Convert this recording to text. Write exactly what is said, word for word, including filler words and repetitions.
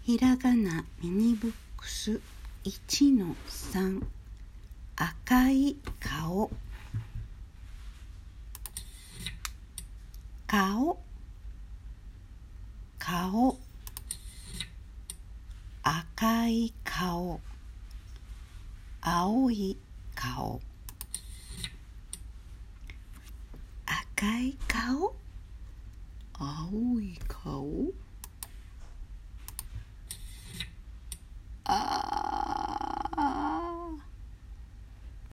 ひらがなミニブックス いちのさん 赤い顔顔顔赤い顔青い顔赤い顔青い顔